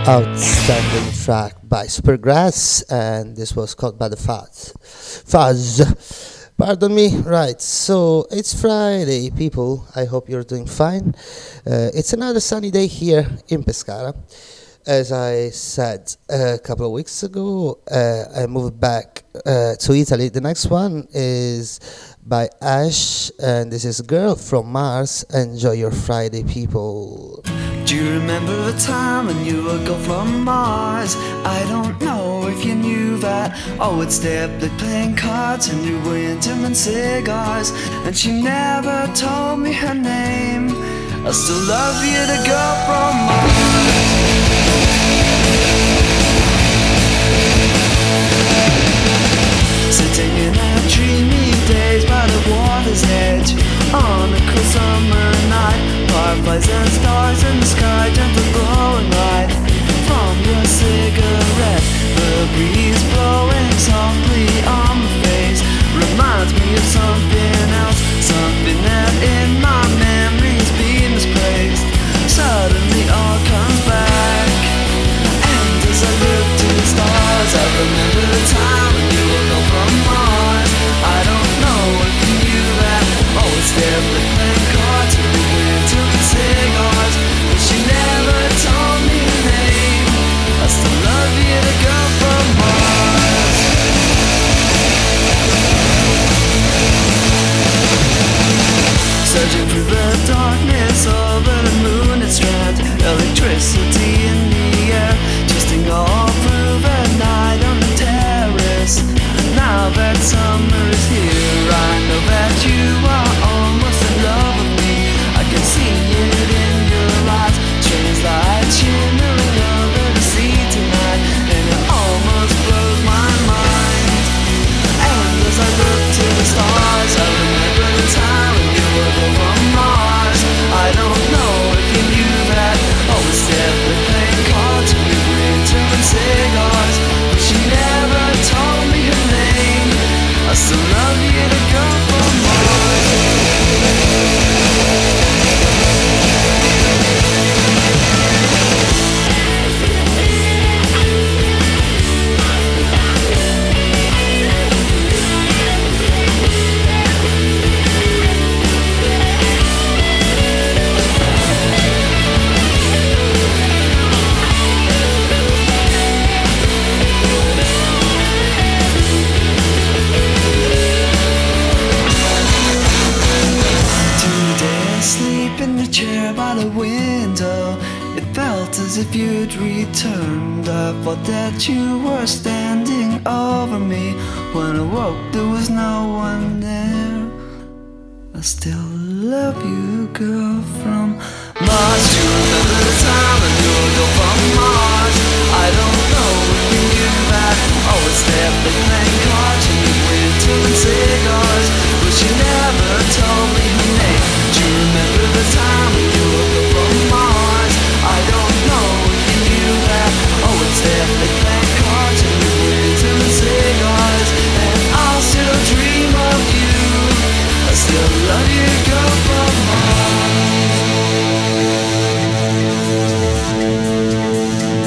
Outstanding track by Supergrass, and this was called by the Fuzz. Fuzz. Pardon me. Right, so it's Friday, people. I hope you're doing fine. It's another sunny day here in Pescara. As I said a couple of weeks ago, I moved back to Italy. The next one is by Ash, and this is Girl from Mars. Enjoy your Friday, people. Do you remember the time when you were girl from Mars? I don't know if you knew that. I would stay up late playing cards and you were into and cigars. And she never told me her name. I still love you, the girl from Mars. Sitting in our dreamy days by the water's edge, on a cool summer night, fireflies and stars in the sky, gentle glowing light from your cigarette. The breeze blowing softly on my face reminds me of something else, something that in my memories been misplaced. Suddenly all comes back, and as I look to the stars, I remember the time when you were gone from Mars. I don't know if you knew that. Always there playing cards and we went to cigars, but she never told me her name. I still love you, the girl from Mars. Searching through the darkness over the moon and strands, electricity in the air, twisting all through the night on the terrace. Now that summer is here, I know that you are almost in love with me. I can see it in your eyes, strange light shimmering over the sea tonight, and it almost blows my mind. And as I look to the stars, I remember the time when you were from Mars. I don't know if you knew that. Always there with playing cards, we were into cigars, but she never told me her name. I still love you, the girl from Mars. As if you'd returned, I thought that you were standing over me. When I woke, there was no one there. I still love you, girl from Mars. Do you remember the time when you were girl from Mars? I don't know if you knew that. Always there playing cards and we went to cigars, but she never told me her name. Do you remember the time when you were girl from Mars? I don't know if you knew that. Oh, it's there, they play cards and we went to cigars, and I'll still dream of you. I still love you, girl from Mars.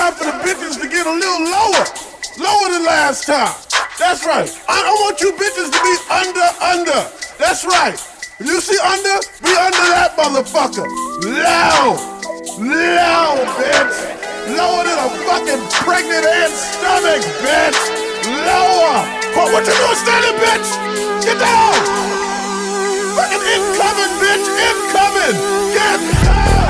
time for the bitches to get a little lower. Lower than last time. That's right. I want you bitches to be under. That's right. If you see under, be under that motherfucker. Low, bitch. Lower than a fucking pregnant ant's stomach, bitch. Lower. What you doing standing, bitch? Get down. Fucking incoming, bitch. Incoming. Get down.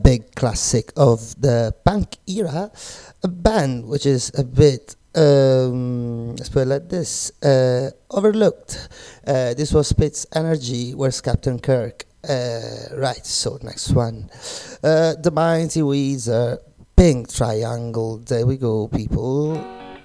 big classic of the punk era, a band which is a bit, let's put it like this, overlooked. This was Spitz Energy, where's Captain Kirk? Right, so next one. The Mighty Weezer, Pink Triangle, there we go, people.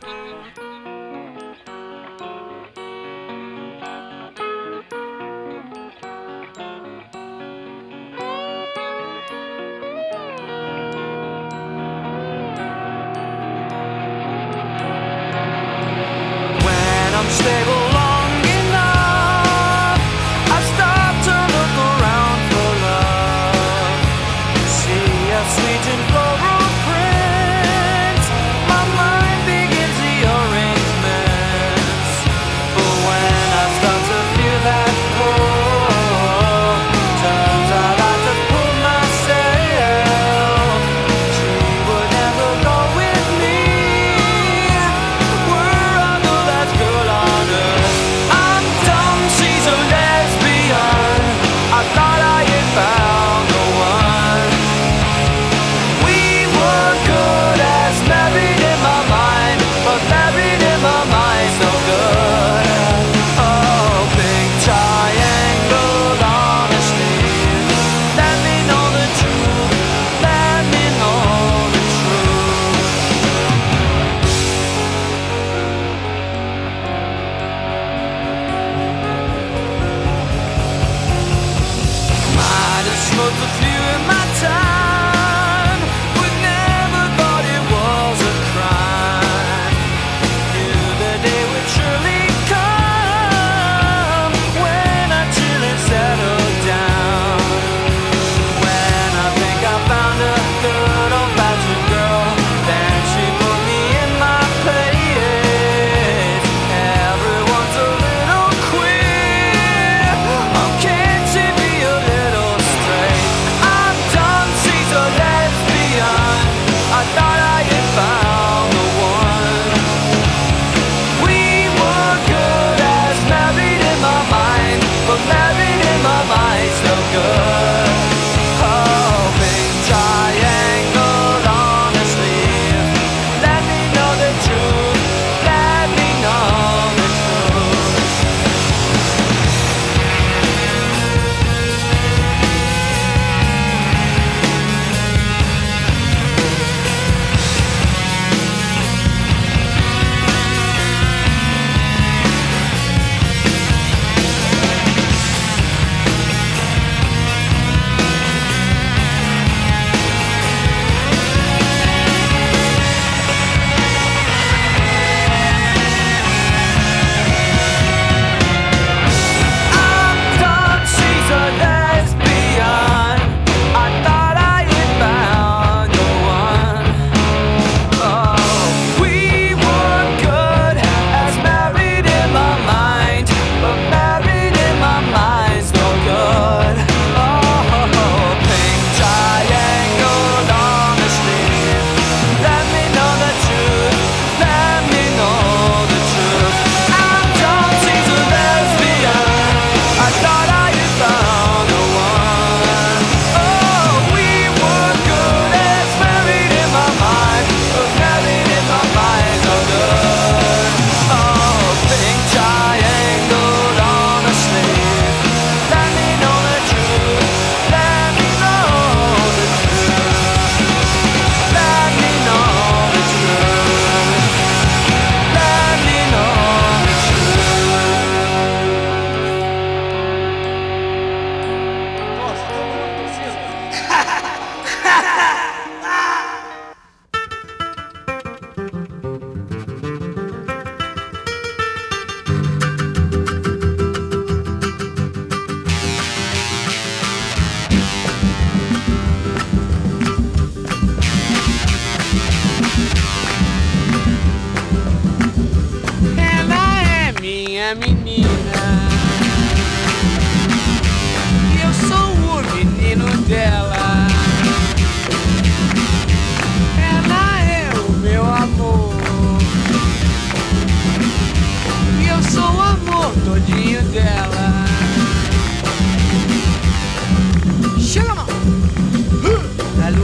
Stable long enough, I stop to look around for love. See a sweet and floral print, my mind begins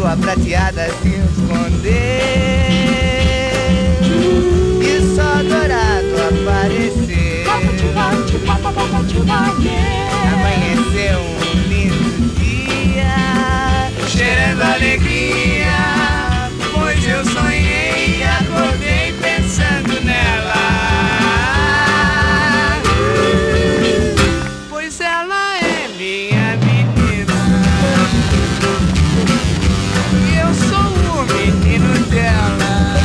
lua prateada se escondeu e o sol dourado apareceu. Amanheceu um lindo dia, cheirando alegria, pois eu sonhei e acordei pensando nela. Pois ela é minha menina e eu sou o menino dela.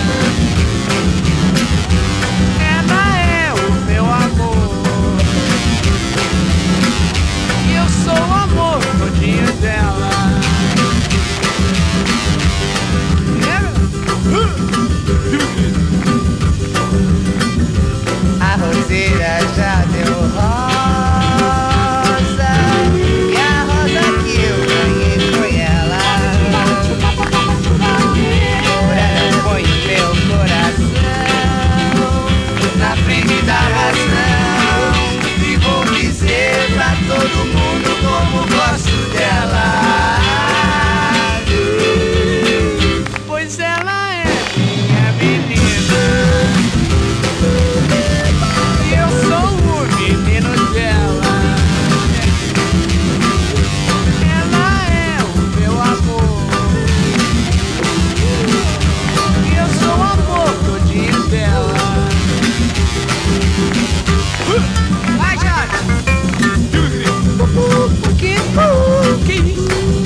Ela é o meu amor e eu sou o amor todinho dela. A roseira já deu rosa e a rosa que eu ganhei foi ela. Agora ponho meu coração na frente da razão e vou dizer pra todo mundo como gosto dela. Pois ela é minha menina e eu sou o menino dela. Ela é o meu amor e eu sou o amor todinho dela. Vai, Jota! Que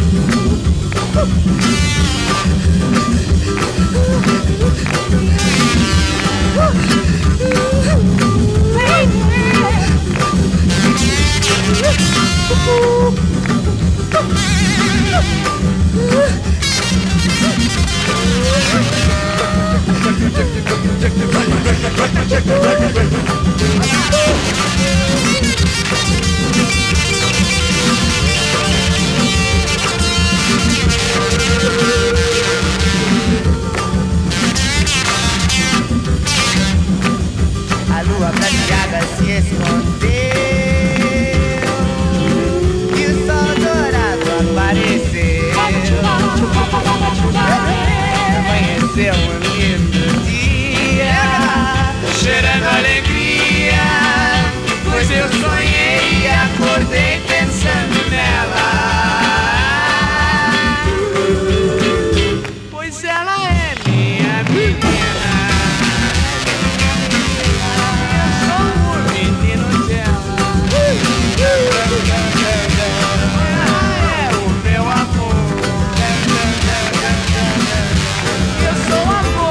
a lua prateada se escondeu e o sol dourado apareceu. Amanheceu um lindo dia, cheirando alegria, pois eu sonhei e acordei pensando nela. Pois ela é minha menina. Eu sou amor.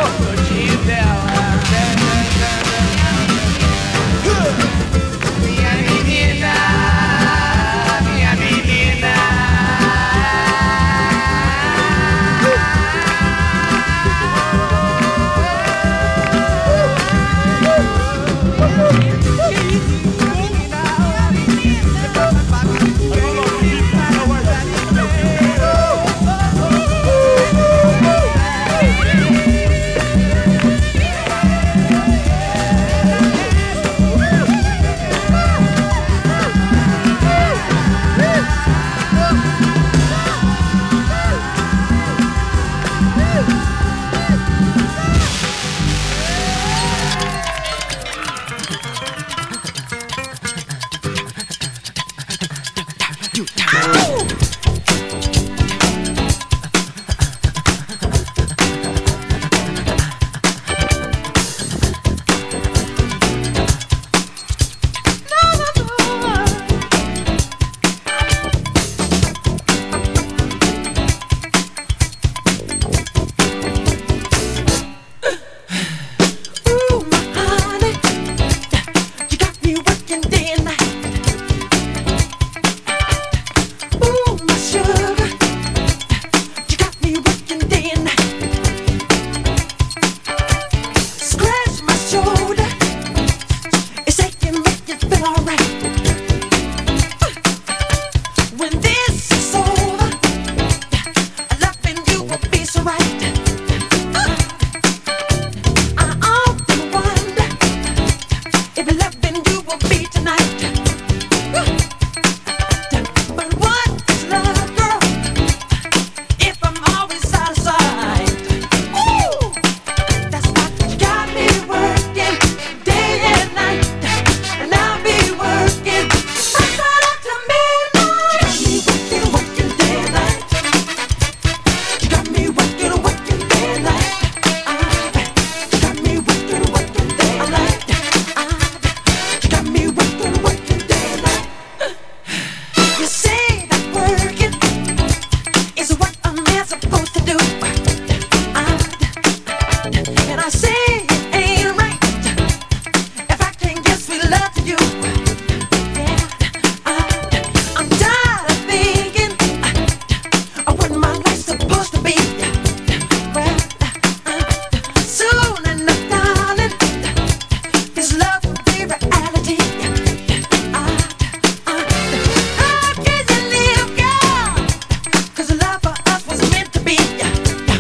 Cause love for us was meant to be.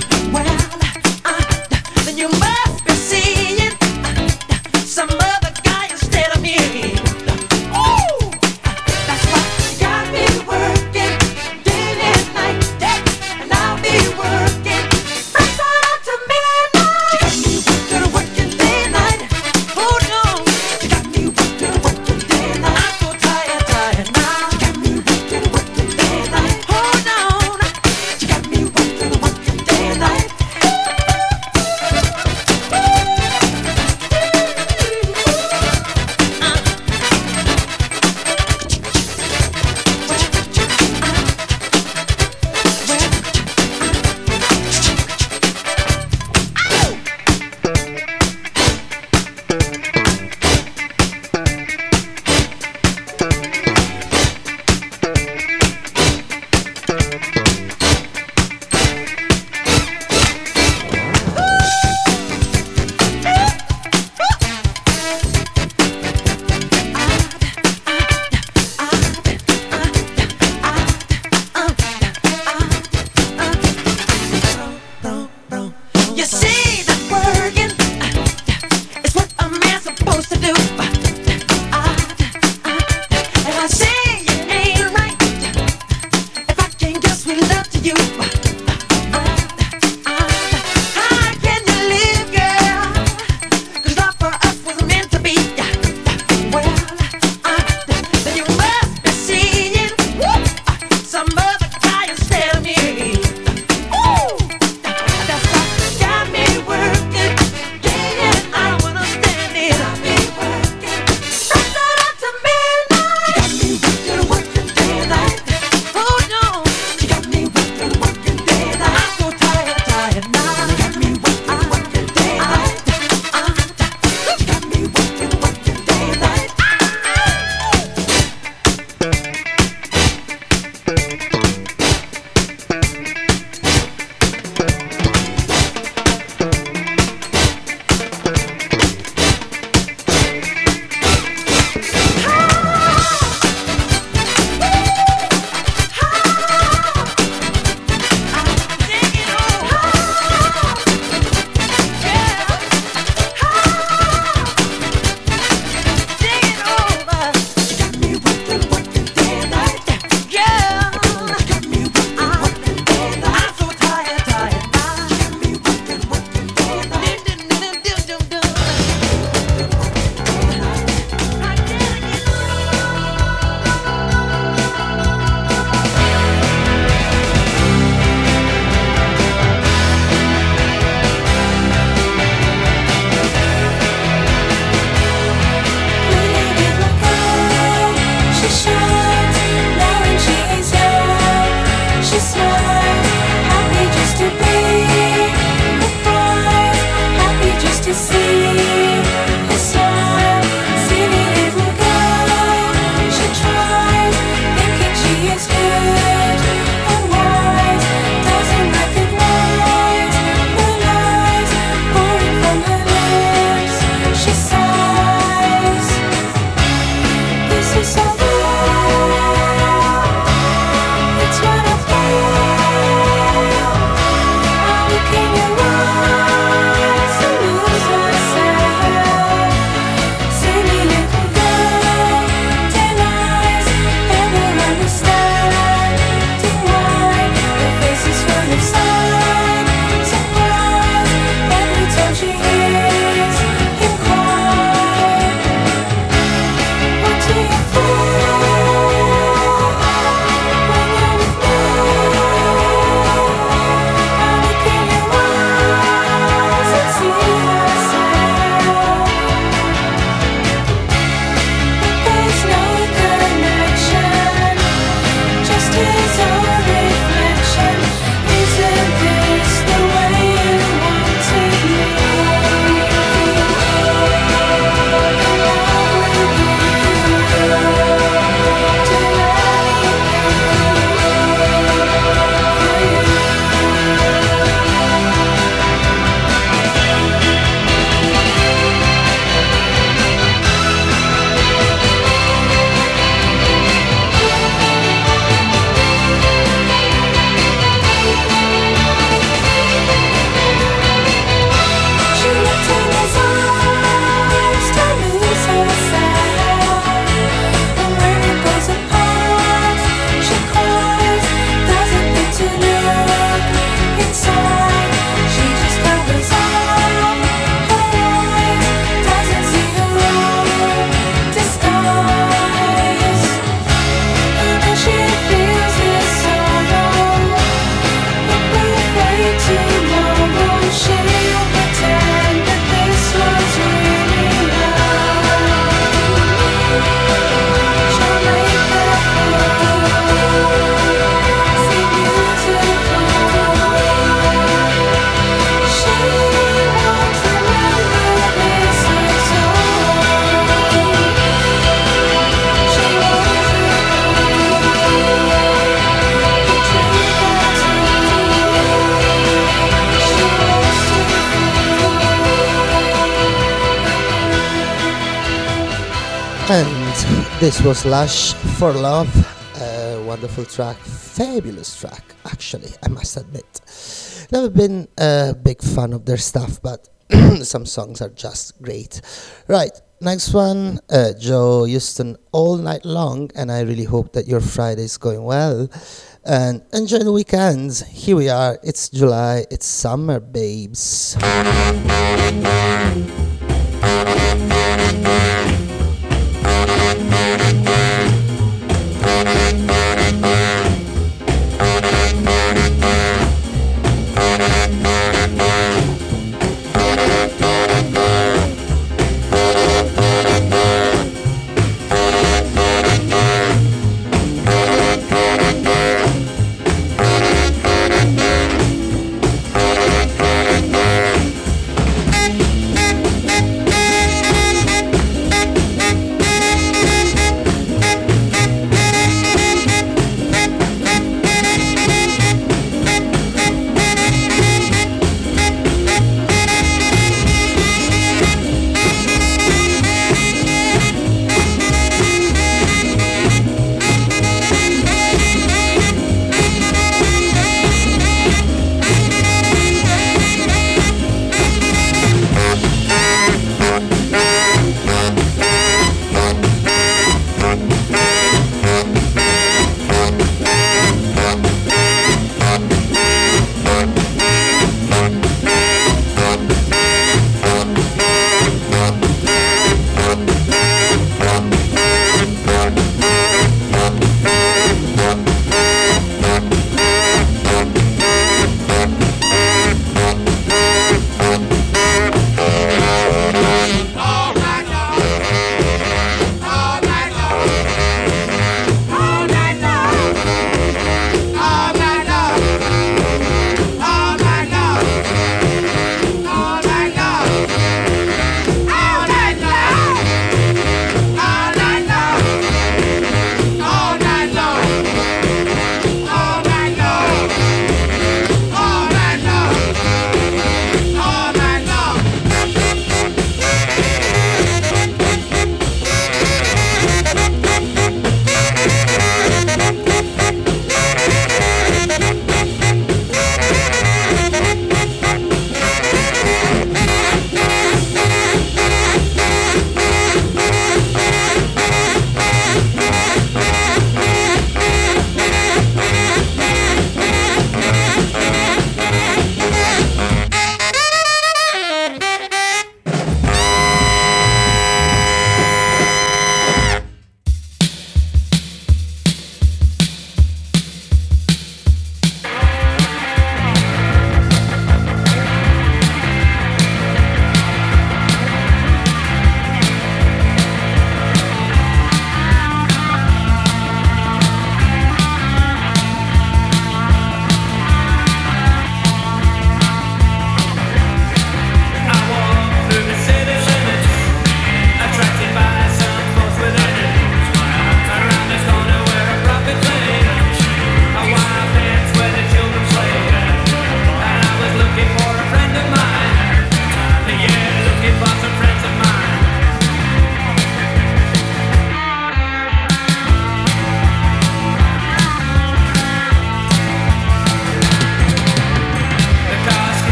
And this was Lush for Love, a wonderful track, fabulous track, actually, I must admit. Never been a big fan of their stuff, but some songs are just great. Right, next one, Joe Houston, All Night Long, and I really hope that your Friday is going well. And enjoy the weekends. Here we are, it's July, it's summer, babes.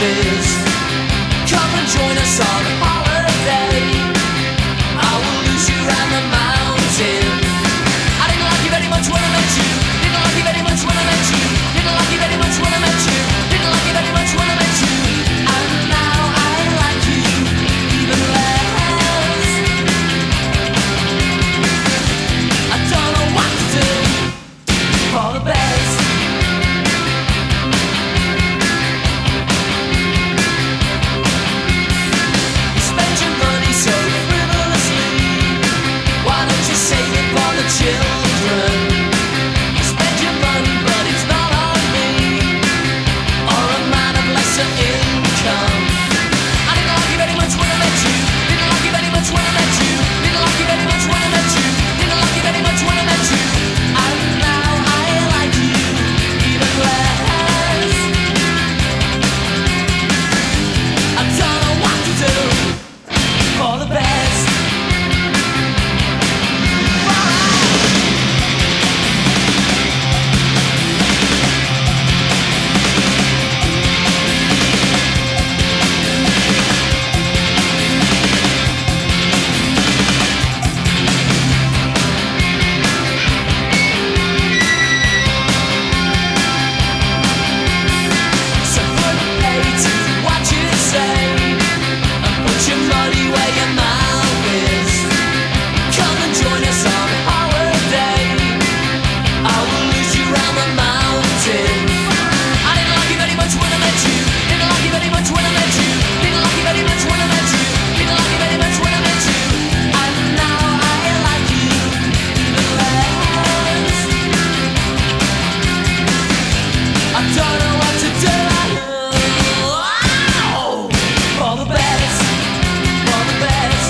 Maldives. Come and join us on holiday. I will lose you around the mountain. I didn't like you very much when I met you. Didn't like you very much when I met you. Didn't like you very much when I met you. Didn't like you very much when I met you. And now I like you even less. I don't know what to do for the best. You spend your money so frivolously. Why don't you save it for the children? You spend your money but it's not on me or a man of lesser income. I didn't like you very much when I met you. Didn't like you very much when I met you. Didn't like you very much when I met you. Didn't like you very much when I met you. And now I like you even less. I don't know what to do for the best. So put pay to what you say and put your money where your mouth is. Come and join us on holiday. I will lose you round the mountain. I didn't like you very much when I met you. Didn't like you very much when I met you. Didn't like you very much when I met you. Didn't like you very much when I met you. And now I like you even less. I don't know what to do. Oh, for the best, for the best,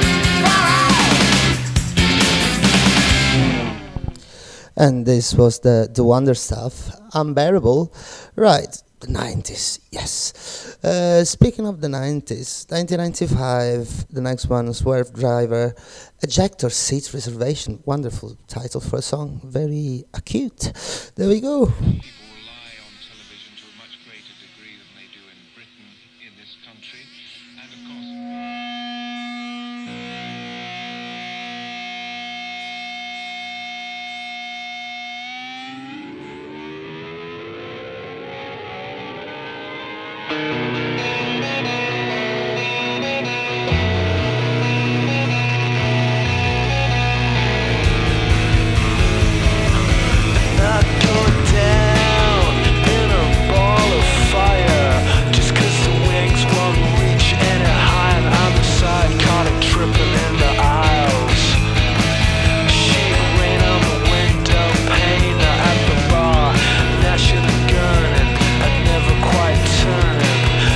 And this was the Wonder Stuff, Unbearable. Right, the 90s, yes. Speaking of the 90s, 1995, the next one, Swerve Driver, Ejector Seat Reservation. Wonderful title for a song, very acute. There we go. People rely on television to a much greater degree than they do in Britain, in this country, and of course. not going down in a ball of fire. Just 'cause the wings won't reach any higher. I'm beside, caught him tripping in the aisles. Sheet rain on the window pane at the bar. Gnashing a gun and never quite turning.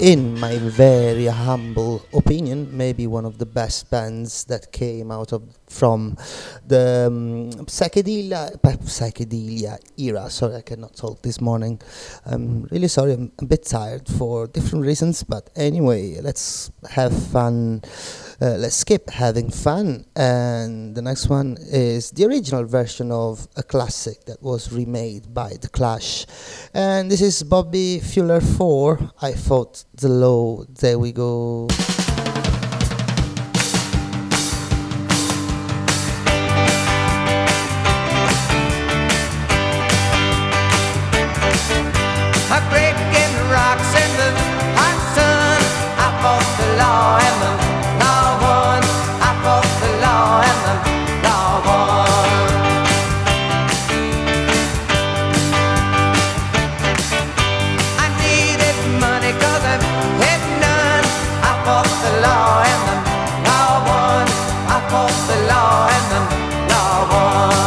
in my very humble opinion, maybe one of the best bands that came out of from the psychedelia era. Sorry, I cannot talk this morning. I'm really sorry. I'm a bit tired for different reasons, but anyway, let's have fun. Let's skip having fun, and the next one is the original version of a classic that was remade by The Clash, and this is Bobby Fuller 4, I Fought the Law. There we go. Breaking rocks in the hot sun, I fought the law and the law won. I fought the law and the law won. I needed money 'cause I had none. I fought the law and the law won. I fought the law and the law won.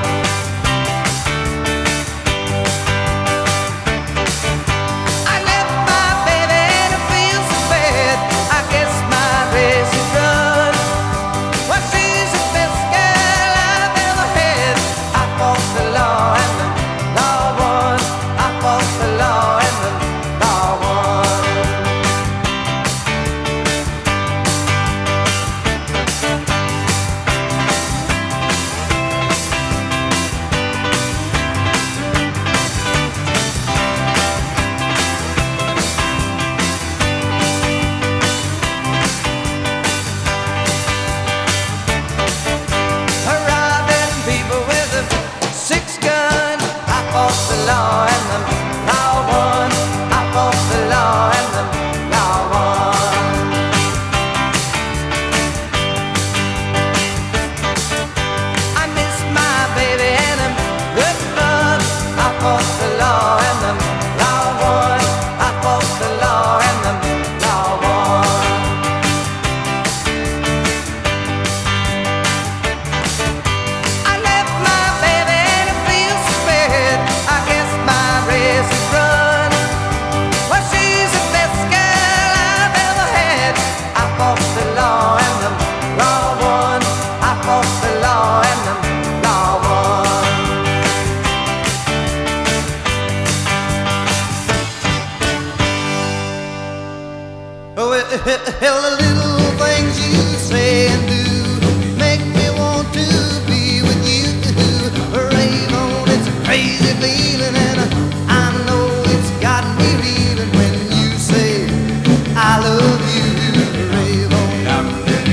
Hell, the little things you say and do make me want to be with you. Rave on, it's a crazy feeling, and I know it's got me reeling when you say I love you. Rave on.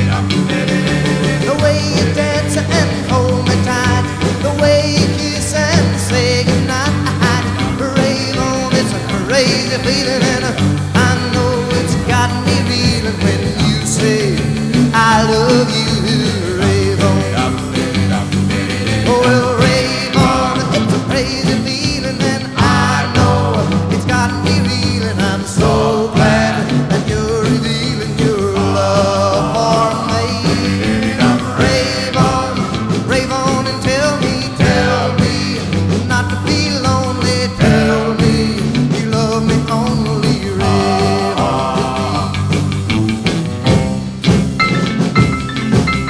The way you dance and hold me tight, the way you kiss and say goodnight. Rave on, it's a crazy feeling, and I know it's got me reeling when you say I love you. Rave on. Oh, well, rave on, it's a crazy feeling, and I know it's got me reeling. I'm so glad that you're revealing your love for me. Rave on and tell me not to be lonely. Tell me you love me only. Rave on.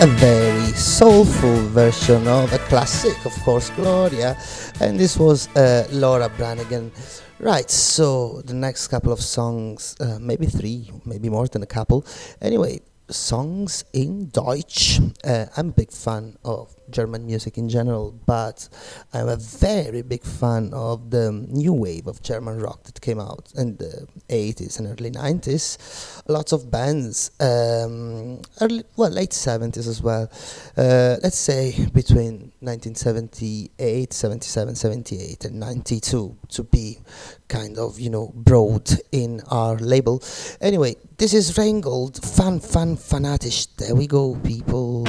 a very soulful version of a classic, of course, Gloria, and this was Laura Branigan. Right, so the next couple of songs, maybe three, maybe more than a couple. Anyway, songs in Deutsch. I'm a big fan of German music in general, but I'm a very big fan of the new wave of German rock that came out in the 80s and early 90s. Lots of bands, late 70s as well. Let's say between 1978, 77, 78 and 92 to be kind of, broad in our label. Anyway, this is Rheingold, fanatisch. There we go, people.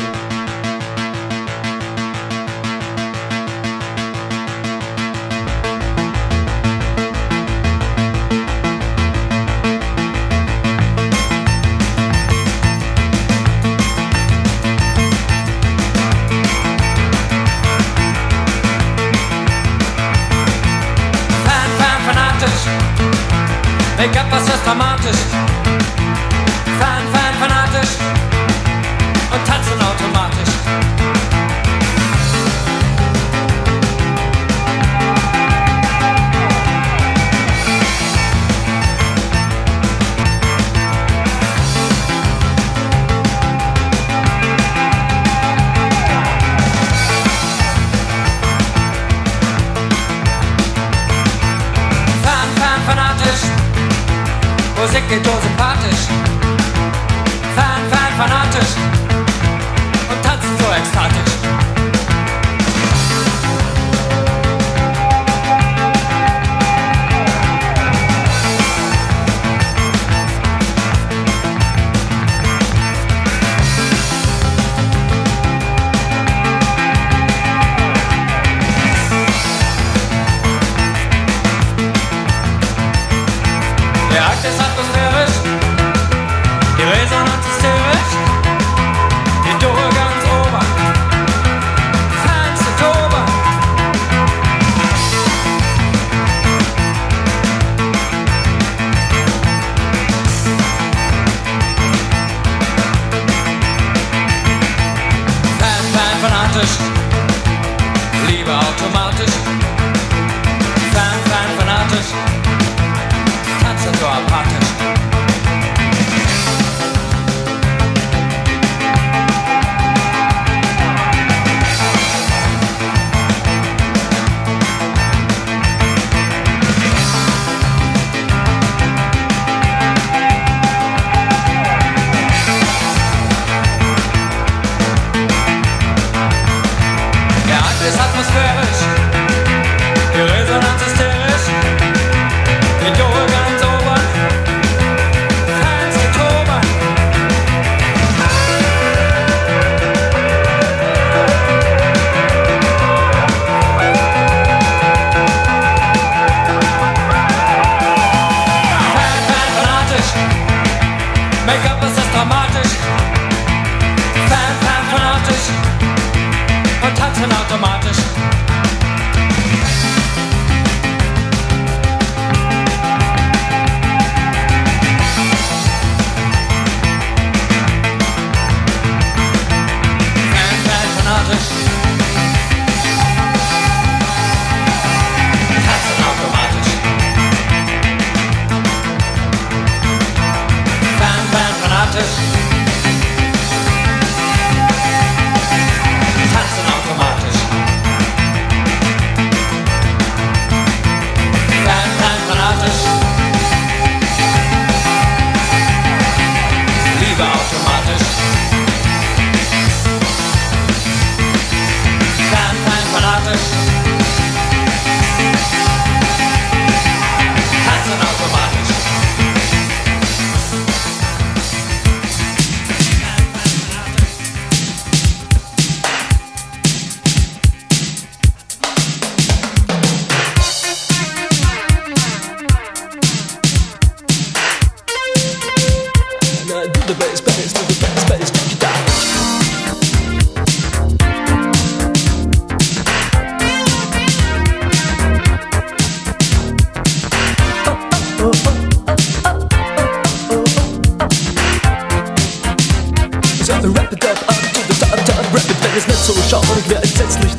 Make-up, was ist dramatisch? Fanatisch und tanzen automatisch. Musik geht so sympathisch, fanatisch und tanzen so ekstatisch. Ist atmosphärisch, die Resonanz hysterisch, die Dore ganz oben, feinste Tobe. Fanatisch, Liebe automatisch, fanatisch. So apathisch. Der Akt ist atmosphärisch, die Resonanz hysterisch, die Dore ganz oben. Make-up, das ist dramatisch, fanatisch und tanzen automatisch. Fanatisch, tanzen automatisch. Fanatisch, tanzen automatisch.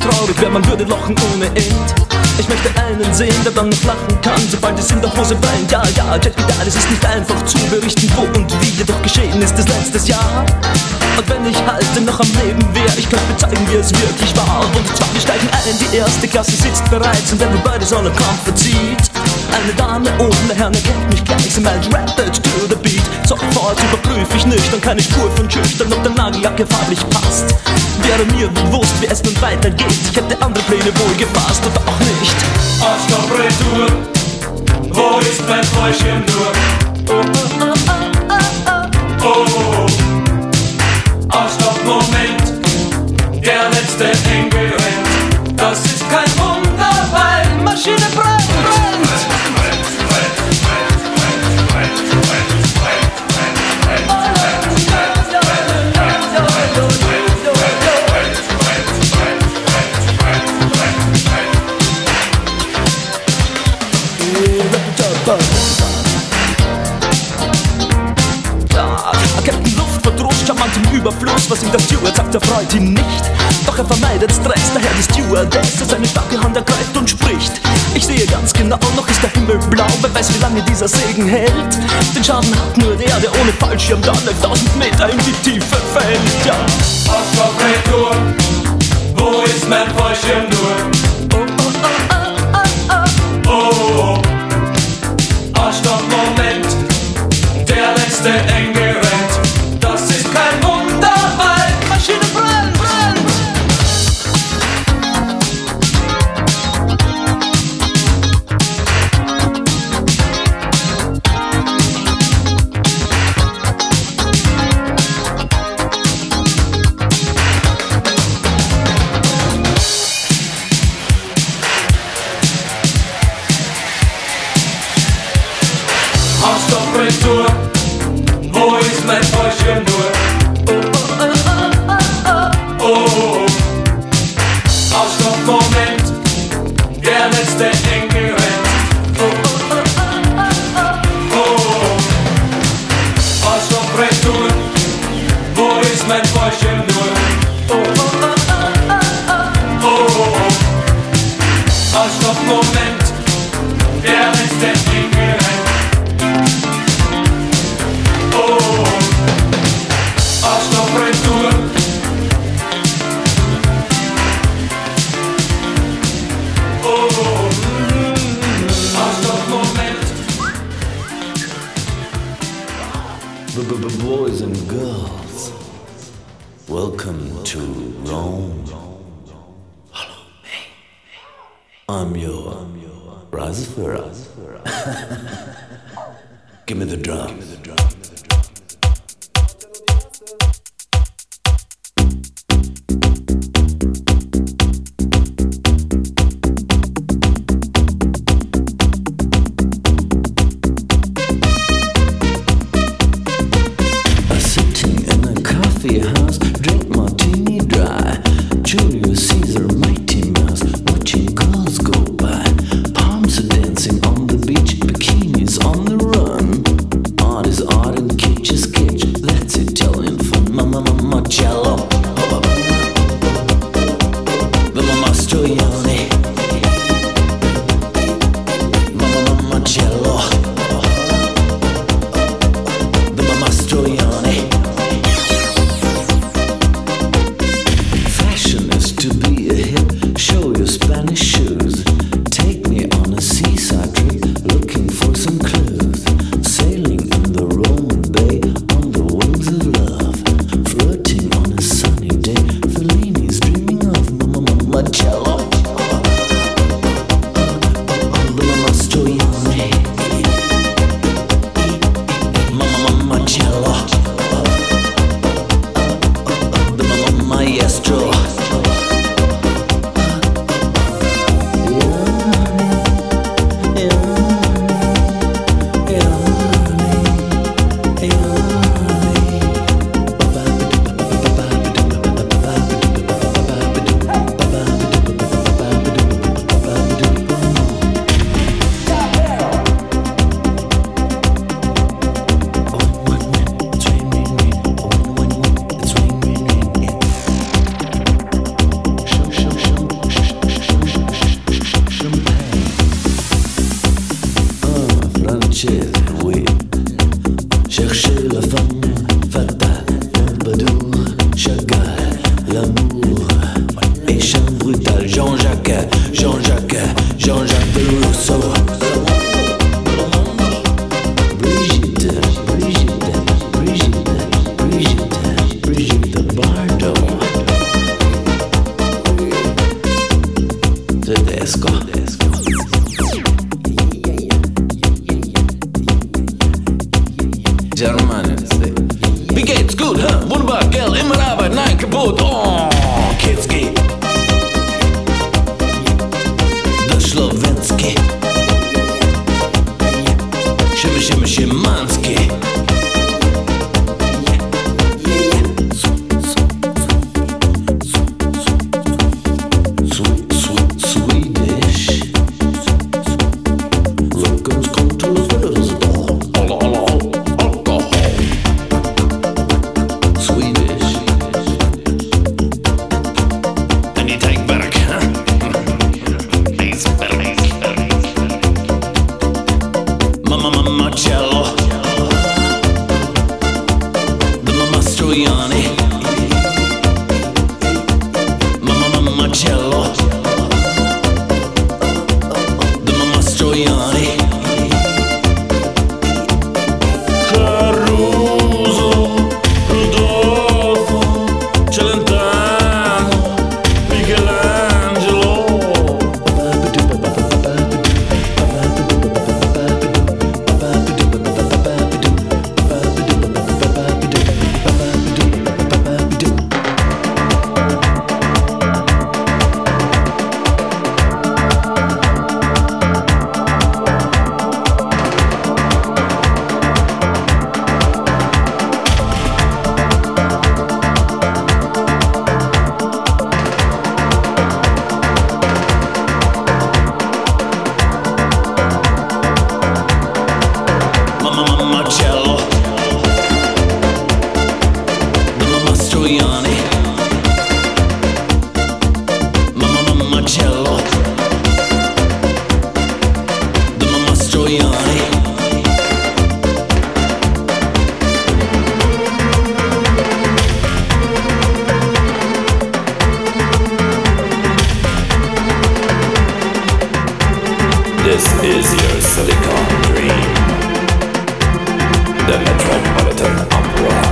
traurig wäre, man würde lachen ohne End. Ich möchte einen sehen, der dann noch lachen kann, sobald es in der Hose brennt. Ja, check it out, es ist nicht einfach zu berichten, wo und wie jedoch geschehen ist es letztes Jahr. Und wenn ich halt noch am Leben wäre, ich könnte mir zeigen, wie es wirklich war. Und zwar, wir steigen ein, die erste Klasse sitzt bereits und everybody's on a comfort seat. Eine Dame ohne Herrn erkennt mich gleich, sie meint rapid to the beat. Sofort überprüfe ich nüchtern, keine Spur von schüchtern, ob der Nagellack farblich passt. Wäre mir bewusst, wie es nun weitergeht, ich hätte andere Pläne wohl gefasst oder auch nicht. Arschloch-Retour, wo ist mein Fräuschchen nur? Oh, Arschloch-Moment, der letzte Engel rennt. Das ist kein Wunder, weil Maschine brennt. Captain Luftverdruss, charmant im Überfluss. Was ihm der Steward sagt, erfreut ihn nicht. Doch er vermeidet Stress, daher die Stewardess seine starke Hand ergreift und spricht. Ich sehe ganz genau, noch ist der Himmel blau. Wer weiß, wie lange dieser Segen hält. Den Schaden hat nur der ohne Fallschirm da 1000 Meter in die Tiefe fällt. Ja. Arschloch-Retour, wo ist mein Fallschirm nur? Oh, Arschloch-Moment, der letzte Engel rennt. Das ist kein Wunder, weil Maschine brennt. Arschloch-Retour, wo ist mein Fallschirm nur? Oh, Arschloch-Moment, der letzte Engel rennt. Oh, Arschloch-Retour, wo ist mein Fallschirm nur? Oh, Arschloch-Moment, der letzte Engel rennt. Oh, Arschloch-Retour. Oh, Arschloch-Moment. Boys and girls, welcome to Rome. Hello, hey. I'm your Reisefahrer. Give me the drum. Sitting in a coffee house, drink martini dry. Julius Caesar, Mighty Mouse, watching girls go by. Palms are dancing on the beach, bikinis on the run. Art is art and kitsch is kitsch, that's Italian fun. Mama cello, the Mama Mastroianni. Mama cello, the Mama Mastroianni. Fashion is to be a hip, show your Spanish shoes. Take me on a seaside trip, looking for some clues. Sailing in the Roman Bay, on the wings of love. Flirting on a sunny day, Fellini's dreaming of Mama cello. The Mama Mastroianni. Mama cello. The Mama Maestro. Yeah. méchant, brutal, Jean-Jacques de Rousseau. Brigitte Bardot. Tedesco. Germania, wie geht's gut, huh? Wunderbar, gell, immer Arbeit, nein, kaputt, oh, Kinski. Der Schlowinski. Schimanski. Swedish. Rückens kommt zu Alkohol. Swedish. And you take back, huh? He's back. Mama cello. The Mama Stroiani. Mama cello. The Mama Stroiani. Caruso, Rodolfo, Celentano, Michelangelo. Marcello, the Mama Stroiani, Mama Marcello, the Mama Stroiani. This is your Silicon Dream. The Metropolitan Opera.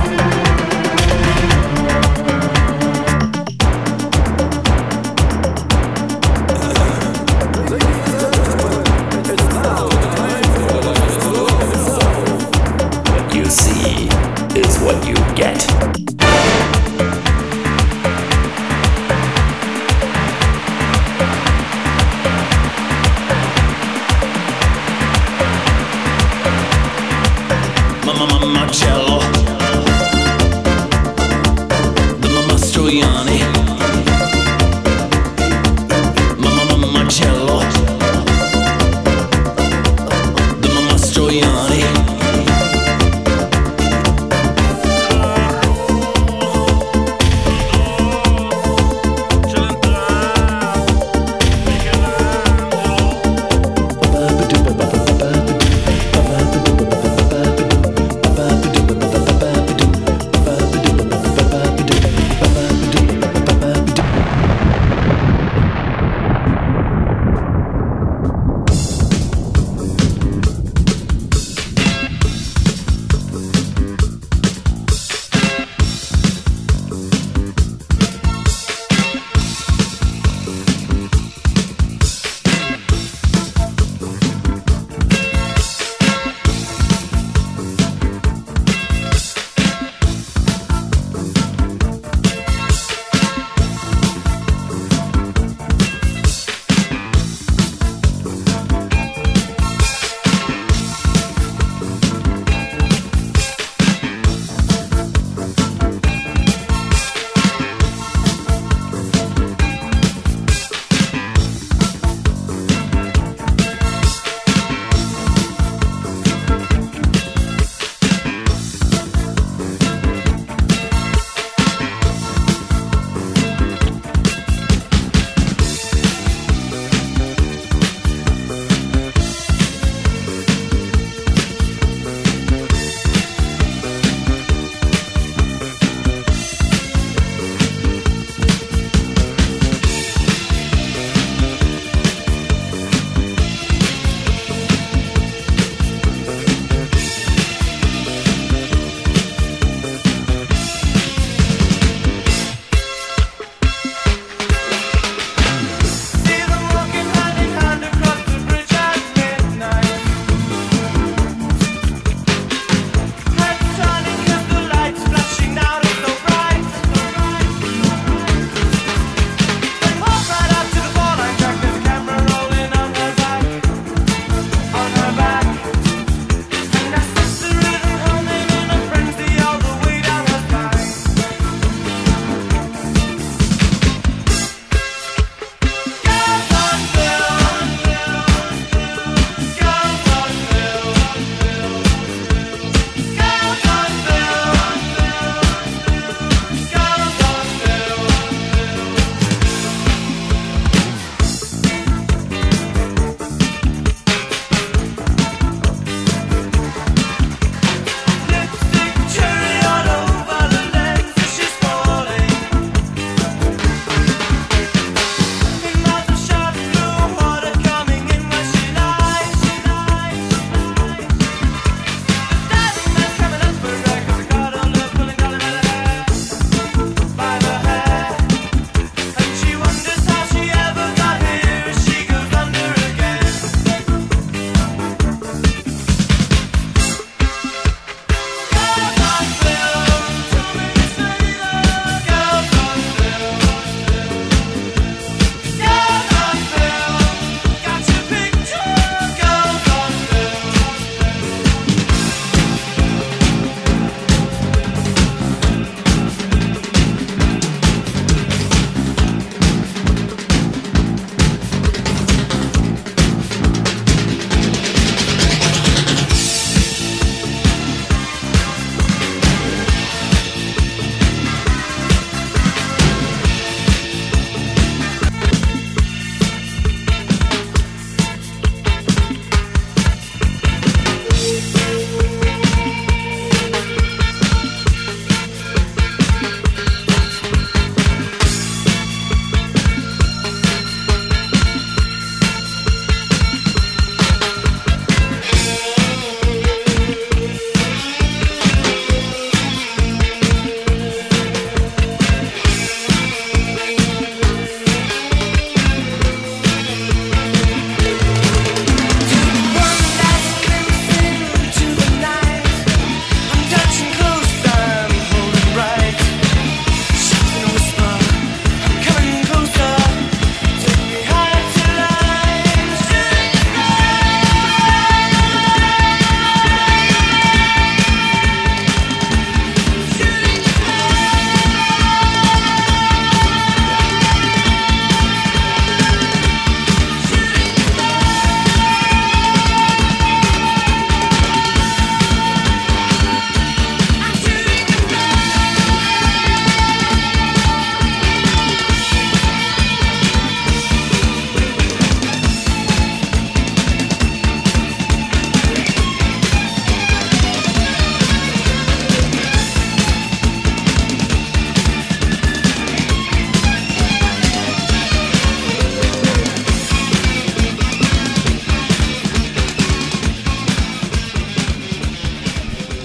What you see is what you get.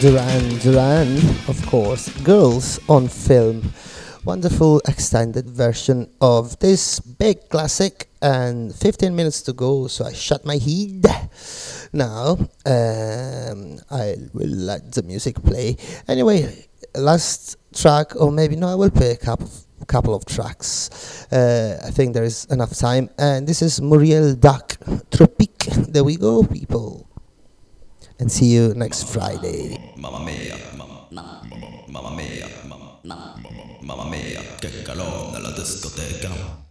Duran Duran, of course, Girls on Film. Wonderful extended version of this big classic, and 15 minutes to go, so I shut my head. Now, I will let the music play. Anyway, last track, or maybe no, I will play a couple of tracks. I think there is enough time, and this is Muriel Duck, Tropique. There we go, people. And see you next Friday. Mamma mia, mamma mia, mamma mia, che calore nella discoteca.